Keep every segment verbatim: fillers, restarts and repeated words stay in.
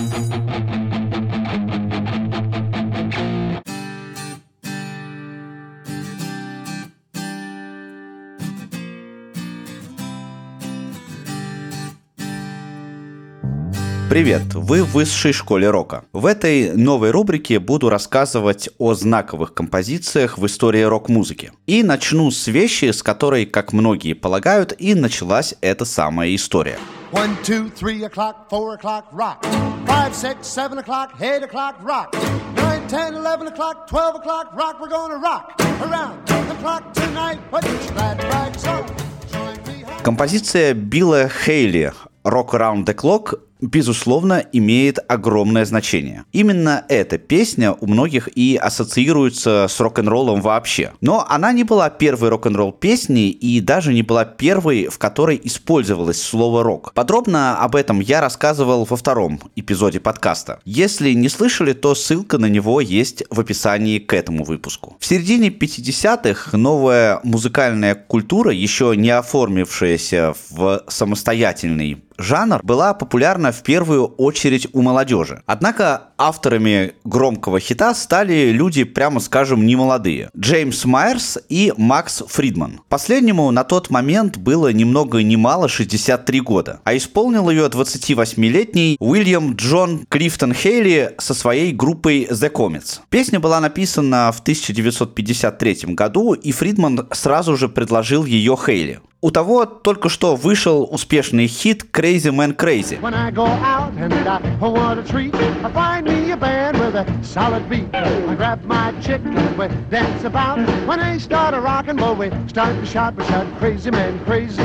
Привет! Вы в высшей школе рока. В этой новой рубрике буду рассказывать о знаковых композициях в истории рок-музыки. И начну с вещи, с которой, как многие полагают, и началась эта самая история. One, two, three o'clock, four o'clock, rock. Five, six, seven o'clock, eight o'clock, rock. Nine, ten, eleven o'clock, twelve o'clock, rock. We're gonna rock around the clock tonight. Put your glad rags on. Join me. Композиция Билла Хейли «Rock Around the Clock» безусловно, имеет огромное значение. Именно эта песня у многих и ассоциируется с рок-н-роллом вообще. Но она не была первой рок-н-ролл песней и даже не была первой, в которой использовалось слово «рок». Подробно об этом я рассказывал во втором эпизоде подкаста. Если не слышали, то ссылка на него есть в описании к этому выпуску. В середине пятидесятых новая музыкальная культура, еще не оформившаяся в самостоятельный жанр, была популярна в первую очередь у молодежи. Однако авторами громкого хита стали люди, прямо скажем, немолодые. Джеймс Майерс и Макс Фридман. Последнему на тот момент было ни много ни мало шестьдесят три года, а исполнил ее двадцативосьмилетний Уильям Джон Клифтон Хейли со своей группой The Comets. Песня была написана в тысяча девятьсот пятьдесят третьем году, и Фридман сразу же предложил ее Хейли. У того только что вышел успешный хит Crazy Man Crazy. When I go out and I want a treat, I find me a band with a solid beat. I grab my chick and we dance about. When they start a rockin', well, we start to shout, we shout, Crazy Man Crazy,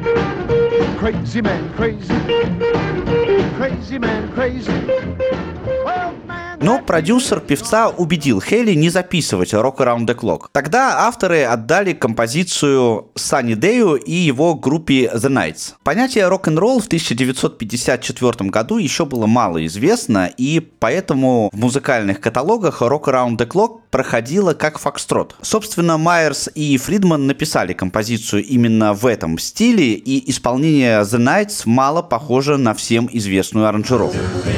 Crazy Man Crazy, Crazy Man Crazy. Well, man. Но продюсер певца убедил Хейли не записывать Rock Around the Clock. Тогда авторы отдали композицию Санни Дэю и его группе The Knights. Понятие рок-н-ролл в тысяча девятьсот пятьдесят четвёртом году еще было мало известно, и поэтому в музыкальных каталогах Rock Around the Clock проходила как фокстрот. Собственно, Майерс и Фридман написали композицию именно в этом стиле, и исполнение The Knights мало похоже на всем известную аранжировку.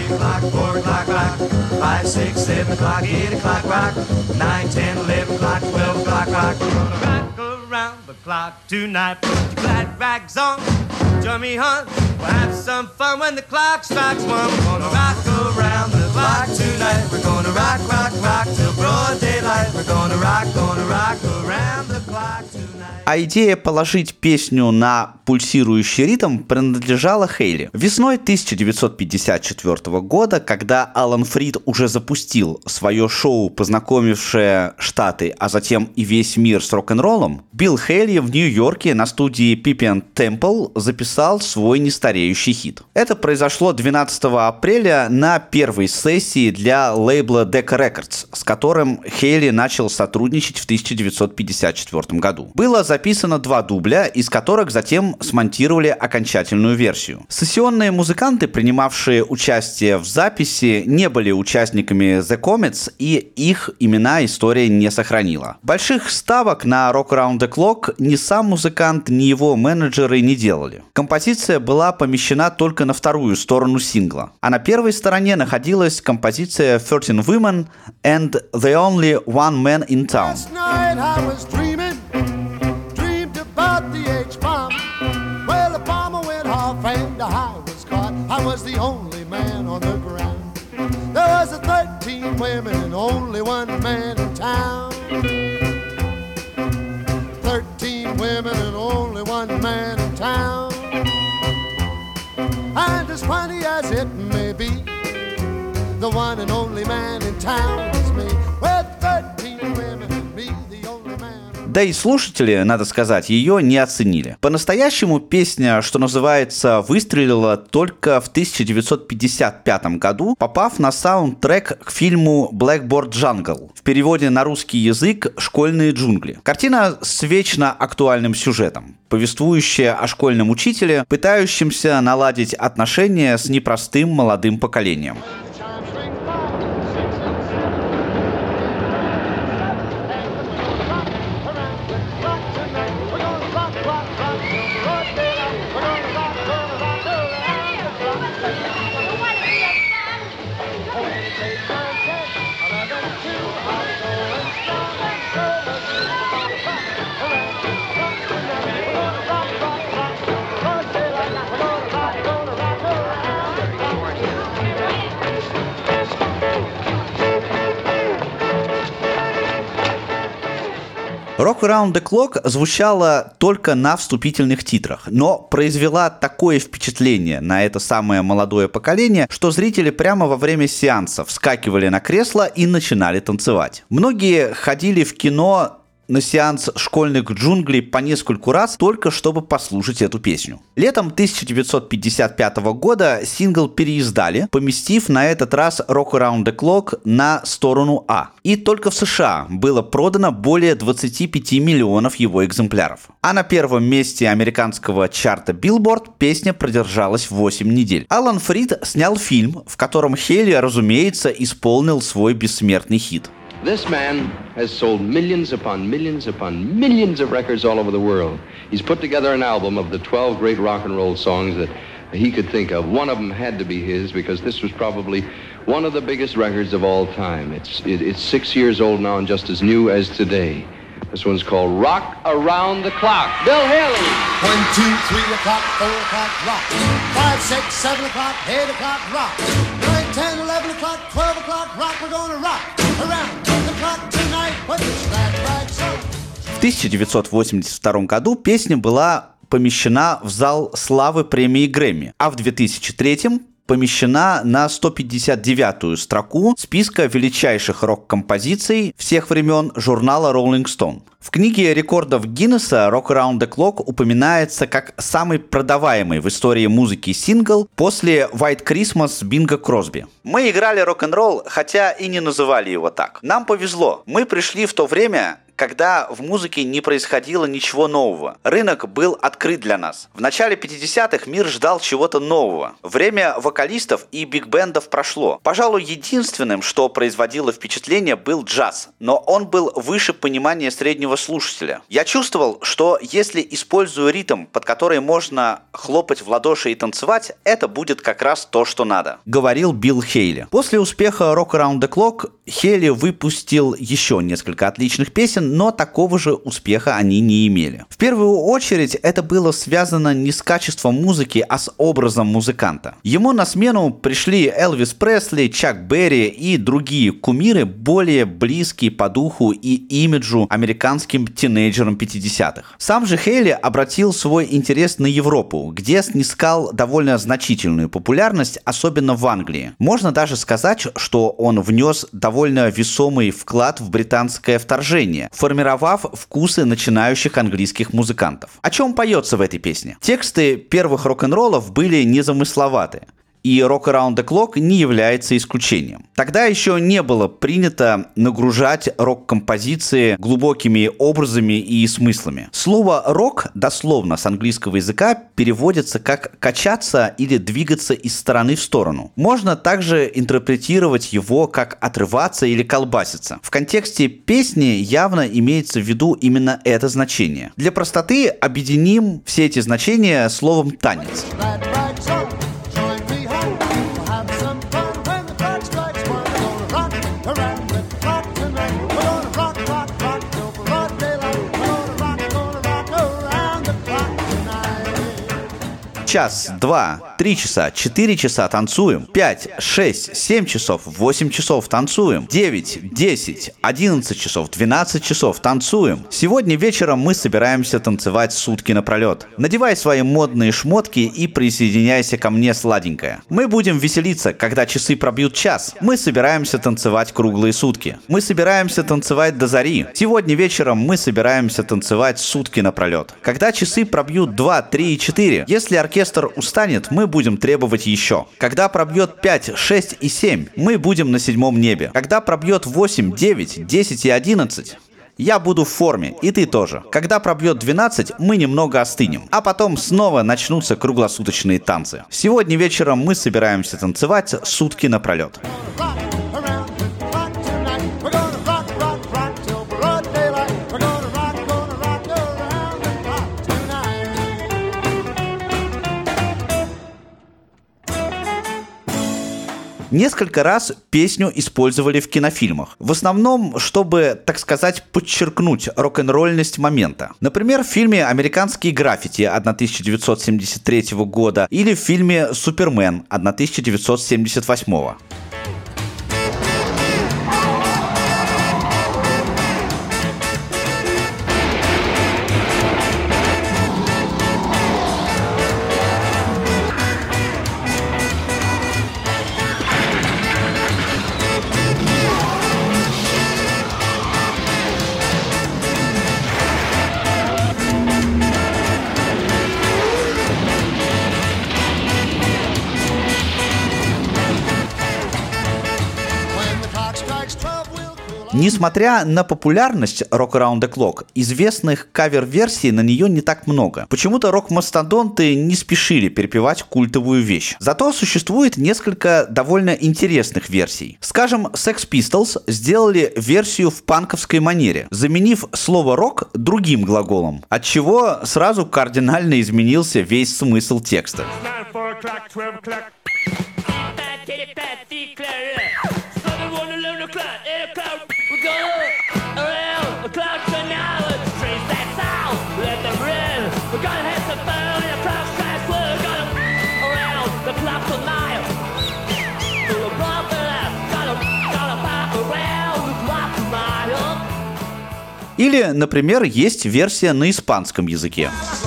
Five, six, seven o'clock, eight o'clock, rock. Nine, ten, eleven o'clock, twelve o'clock, rock. We're gonna rock around the clock tonight. Put your glad rags on, join me, hon. We'll have some fun when the clock strikes one. We're gonna rock around the clock tonight. We're gonna rock, rock, rock till broad daylight. We're gonna rock, gonna rock around the clock tonight. А идея положить песню на пульсирующий ритм принадлежала Хейли. Весной тысяча девятьсот пятьдесят четвёртого года, когда Алан Фрид уже запустил свое шоу, познакомившее Штаты, а затем и весь мир с рок-н-роллом, Билл Хейли в Нью-Йорке на студии Pippin Temple записал свой нестареющий хит. Это произошло двенадцатого апреля на первой сессии для лейбла Decca Records, с которым Хейли начал сотрудничать в тысяча девятьсот пятьдесят четвёртом году. Было записано два дубля, из которых затем смонтировали окончательную версию. Сессионные музыканты, принимавшие участие в записи, не были участниками The Comets, и их имена история не сохранила. Больших ставок на Rock Around the Clock ни сам музыкант, ни его менеджеры не делали. Композиция была помещена только на вторую сторону сингла, а на первой стороне находилась композиция thirteen Women and the Only One Man in Town. The H-bomb. Well, the bomber went off and I was caught. I was the only man on the ground. There was a thirteen women and only one man in town. Thirteen women and only one man in town. And as funny as it may be, the one and only man in town is me. With thirteen women and me, the only man. Да и слушатели, надо сказать, ее не оценили. По-настоящему песня, что называется, выстрелила только в тысяча девятьсот пятьдесят пятом году, попав на саундтрек к фильму Blackboard Jungle. В переводе на русский язык «Школьные джунгли». Картина с вечно актуальным сюжетом, повествующая о школьном учителе, пытающемся наладить отношения с непростым молодым поколением. Around the Clock звучала только на вступительных титрах, но произвела такое впечатление на это самое молодое поколение, что зрители прямо во время сеанса вскакивали на кресло и начинали танцевать. Многие ходили в кино на сеанс «Школьных джунглей» по нескольку раз, только чтобы послушать эту песню. Летом тысяча девятьсот пятьдесят пятого года сингл переиздали, поместив на этот раз Rock Around the Clock на сторону А. И только в США было продано более двадцати пяти миллионов его экземпляров. А на первом месте американского чарта Billboard песня продержалась восемь недель. Алан Фрид снял фильм, в котором Хейли, разумеется, исполнил свой бессмертный хит. This man has sold millions upon millions upon millions of records all over the world. He's put together an album of the twelve great rock and roll songs that he could think of. One of them had to be his because this was probably one of the biggest records of all time. It's, it, it's six years old now and just as new as today. This one's called Rock Around the Clock. Bill Haley. One, two, three o'clock, four o'clock, rock. Five, six, seven o'clock, eight o'clock, rock. Nine, ten, eleven o'clock, twelve o'clock, rock. We're gonna rock around the clock tonight. Put this glad rags on. В тысяча девятьсот восемьдесят втором году песня была помещена в зал славы премии Грэмми, а в две тысячи третьем помещена на сто пятьдесят девятую строку списка величайших рок-композиций всех времен журнала Rolling Stone. В книге рекордов Гиннесса Rock Around the Clock упоминается как самый продаваемый в истории музыки сингл после White Christmas Бинго Кросби. Мы играли рок-н-ролл, хотя и не называли его так. Нам повезло. Мы пришли в то время, когда в музыке не происходило ничего нового. Рынок был открыт для нас. В начале пятидесятых мир ждал чего-то нового. Время вокалистов и биг-бендов прошло. Пожалуй, единственным, что производило впечатление, был джаз, но он был выше понимания среднего слушателя. Я чувствовал, что если использую ритм, под который можно хлопать в ладоши и танцевать, это будет как раз то, что надо, говорил Билл Хейли. После успеха Rock Around the Clock Хейли выпустил еще несколько отличных песен, но такого же успеха они не имели. В первую очередь это было связано не с качеством музыки, а с образом музыканта. Ему на смену пришли Элвис Пресли, Чак Берри и другие кумиры, более близкие по духу и имиджу американским тинейджерам пятидесятых. Сам же Хейли обратил свой интерес на Европу, где снискал довольно значительную популярность, особенно в Англии. Можно даже сказать, что он внес довольно весомый вклад в британское вторжение, формировав вкусы начинающих английских музыкантов. О чем поется в этой песне? Тексты первых рок-н-роллов были незамысловаты, и Rock Around the Clock не является исключением. Тогда еще не было принято нагружать рок-композиции глубокими образами и смыслами. Слово «рок» дословно с английского языка переводится как «качаться» или «двигаться из стороны в сторону». Можно также интерпретировать его как «отрываться» или «колбаситься». В контексте песни явно имеется в виду именно это значение. Для простоты объединим все эти значения словом «танец». Час, два, три часа, четыре часа танцуем, пять, шесть, семь часов, восемь часов танцуем, девять, десять, одиннадцать часов, двенадцать часов танцуем. Сегодня вечером мы собираемся танцевать сутки напролет. Надевай свои модные шмотки и присоединяйся ко мне, сладенькая. Мы будем веселиться, когда часы пробьют час. Мы собираемся танцевать круглые сутки. Мы собираемся танцевать до зари. Сегодня вечером мы собираемся танцевать сутки напролет. Когда часы пробьют два, три и четыре, если оркестр устанет, мы будем требовать еще. Когда пробьет пять, шесть и семь, мы будем на седьмом небе. Когда пробьет восемь, девять, десять и одиннадцать, я буду в форме, и ты тоже. Когда пробьет двенадцать, мы немного остынем. А потом снова начнутся круглосуточные танцы. Сегодня вечером мы собираемся танцевать сутки напролет. Несколько раз песню использовали в кинофильмах. В основном, чтобы, так сказать, подчеркнуть рок-н-ролльность момента. Например, в фильме «Американские граффити» тысяча девятьсот семьдесят третьего года или в фильме «Супермен» тысяча девятьсот семьдесят восьмого. Несмотря на популярность Rock Around the Clock, известных кавер-версий на нее не так много. Почему-то рок-мастодонты не спешили перепевать культовую вещь. Зато существует несколько довольно интересных версий. Скажем, Sex Pistols сделали версию в панковской манере, заменив слово «рок» другим глаголом, отчего сразу кардинально изменился весь смысл текста. Или, например, есть версия на испанском языке.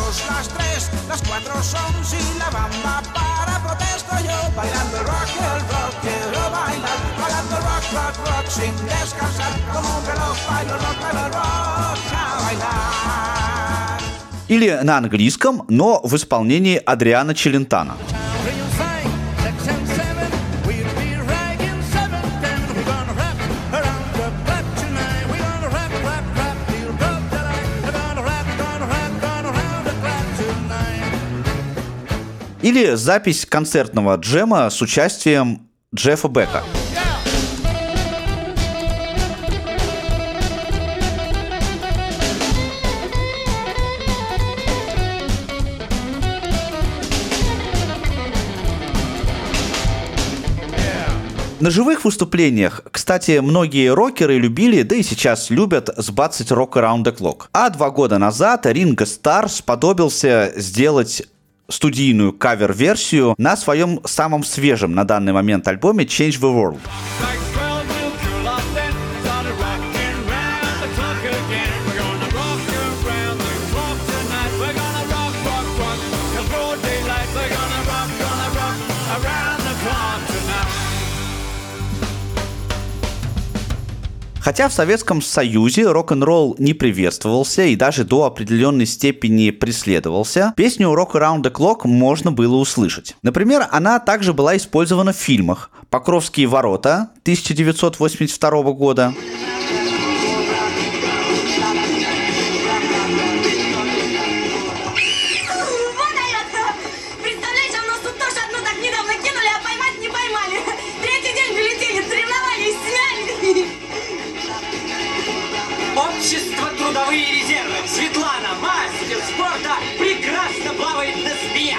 Или на английском, но в исполнении Адриано Челентано. Или запись концертного джема с участием Джеффа Бека. На живых выступлениях, кстати, многие рокеры любили, да и сейчас любят, сбацать Rock Around the Clock. А два года назад Ринго Старр сподобился сделать студийную кавер-версию на своем самом свежем на данный момент альбоме Change the World. Хотя в Советском Союзе рок-н-ролл не приветствовался и даже до определенной степени преследовался, песню Rock Around the Clock можно было услышать. Например, она также была использована в фильмах «Покровские ворота» тысяча девятьсот восемьдесят второго года, Общество трудовые резервы. Светлана, мастер спорта, прекрасно плавает на спине.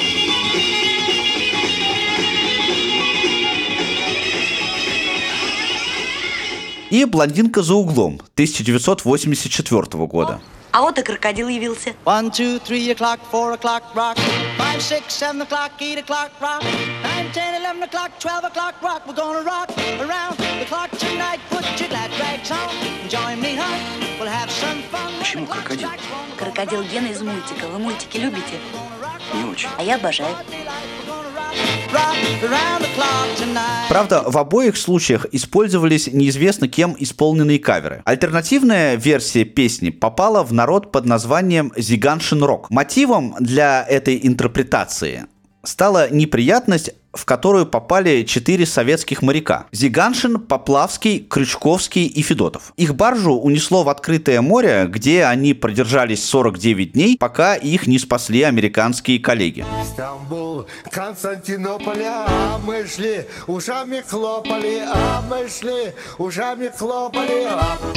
и «Блондинка за углом» тысяча девятьсот восемьдесят четвертого года. А вот и крокодил явился. One, two, three o'clock, four o'clock, rock. Five, six, seven o'clock, eight o'clock, rock. Nine, ten, eleven o'clock, twelve o'clock, rock. We're gonna rock around the clock tonight. Put your glad rags on. Join me, huh? We'll have some fun. Почему крокодил? Крокодил Гена из мультика. Вы мультики любите? Не очень. А я обожаю. Правда, в обоих случаях использовались неизвестно кем исполненные каверы. Альтернативная версия песни попала в народ под названием «Зиганшин рок». Мотивом для этой интерпретации стала неприятность, в которую попали четыре советских моряка: Зиганшин, Поплавский, Крючковский и Федотов. Их баржу унесло в открытое море, где они продержались сорок девять дней, пока их не спасли американские коллеги. Стамбул, Константинополь, а мы шли, ушами хлопали, а мы шли, ушами хлопали.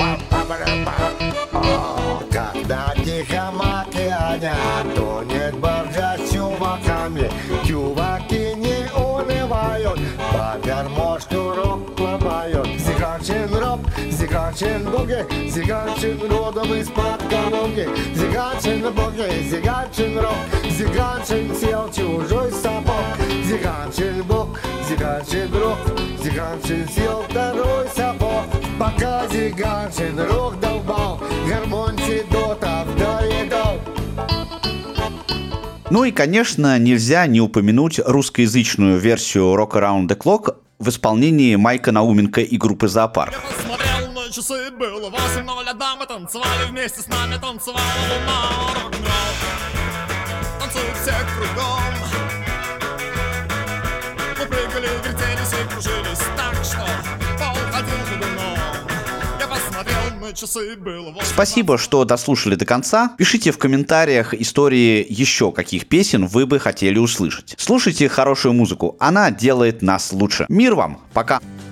О, когда тихом океане тонет баржа с чуваками, чуваки не унывают, по мосту рок ломают. Зиганшин рок, Зиганшин буги, Зиганшин родом из-под Калуги. Зиганшин буги, Зиганшин рок, Зиганшин сел чужой сапог. Зиганшин буг, Зиганшин рок, Зиганшин сел второй сапог. Пока Зиганшин рок долбал, гармонь Федотов доедал. Ну и, конечно, нельзя не упомянуть русскоязычную версию Rock Around the Clock в исполнении Майка Науменко и группы «Зоопарк». Я посмотрел на часы, было восемь ноль, а дамы танцевали вместе с нами, танцевала луна, рок-н-ролл. Танцуют все кругом. Мы прыгали, вертелись и кружились так, что пол ходил ходуном. Я на часы было восемь. Спасибо, что дослушали до конца. Пишите в комментариях истории еще каких песен вы бы хотели услышать. Слушайте хорошую музыку, она делает нас лучше. Мир вам, пока!